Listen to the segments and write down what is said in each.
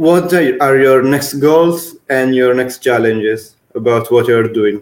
what are your next goals and your next challenges about what you're doing?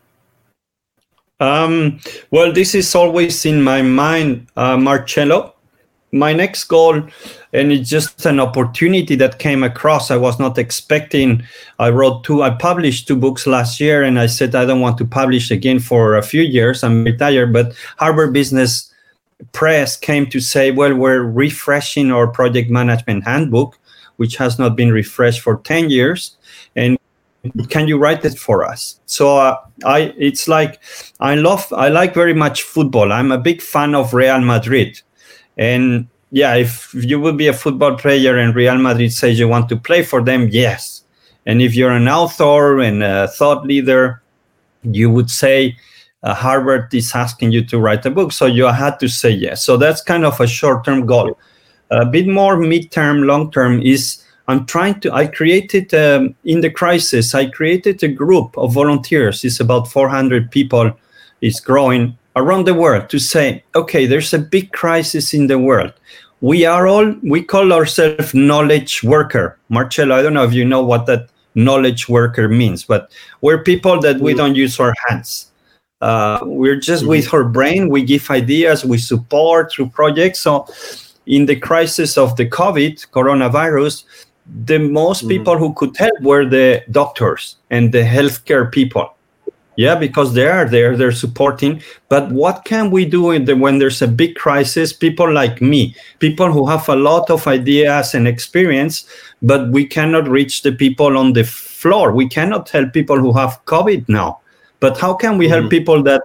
Well, this is always in my mind, Marcello. My next goal, and it's just an opportunity that came across. I was not expecting. I published 2 books last year, and I said I don't want to publish again for a few years. I'm retired, but Harvard Business Press came to say, well, we're refreshing our project management handbook, which has not been refreshed for 10 years. And can you write it for us? So I like very much football. I'm a big fan of Real Madrid. And yeah, if you will be a football player and Real Madrid says you want to play for them, yes. And if you're an author and a thought leader, you would say Harvard is asking you to write a book. So you had to say yes. So that's kind of a short-term goal. A bit more mid-term, long-term is I created, in the crisis, I created a group of volunteers. It's about 400 people. It's growing around the world to say, okay, there's a big crisis in the world. We call ourselves knowledge worker. Marcello, I don't know if you know what that knowledge worker means, but we're people that we don't use our hands. We're just with our brain. We give ideas, we support through projects. So in the crisis of the coronavirus, the most people who could help were the doctors and the healthcare people. Yeah, because they are there, they're supporting. But what can we do when there's a big crisis? People like me, people who have a lot of ideas and experience, but we cannot reach the people on the floor. We cannot help people who have COVID now. But how can we help people that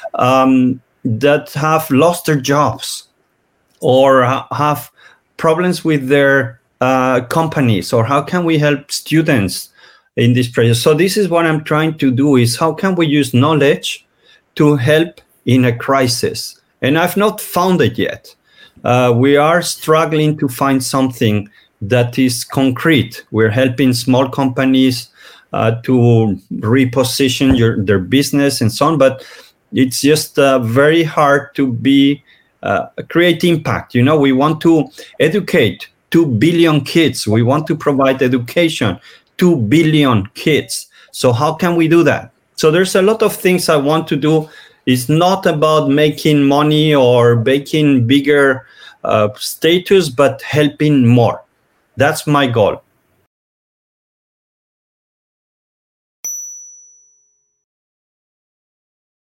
have lost their jobs or have problems with their companies? Or how can we help students in this project? So this is what I'm trying to do, is how can we use knowledge to help in a crisis? And I've not found it yet. We are struggling to find something that is concrete. We're helping small companies to reposition their business and so on, but it's just very hard to create impact. You know, we want to educate 2 billion kids. We want to provide education 2 billion kids. So how can we do that? So there's a lot of things I want to do. It's not about making money or making bigger status, but helping more. That's my goal.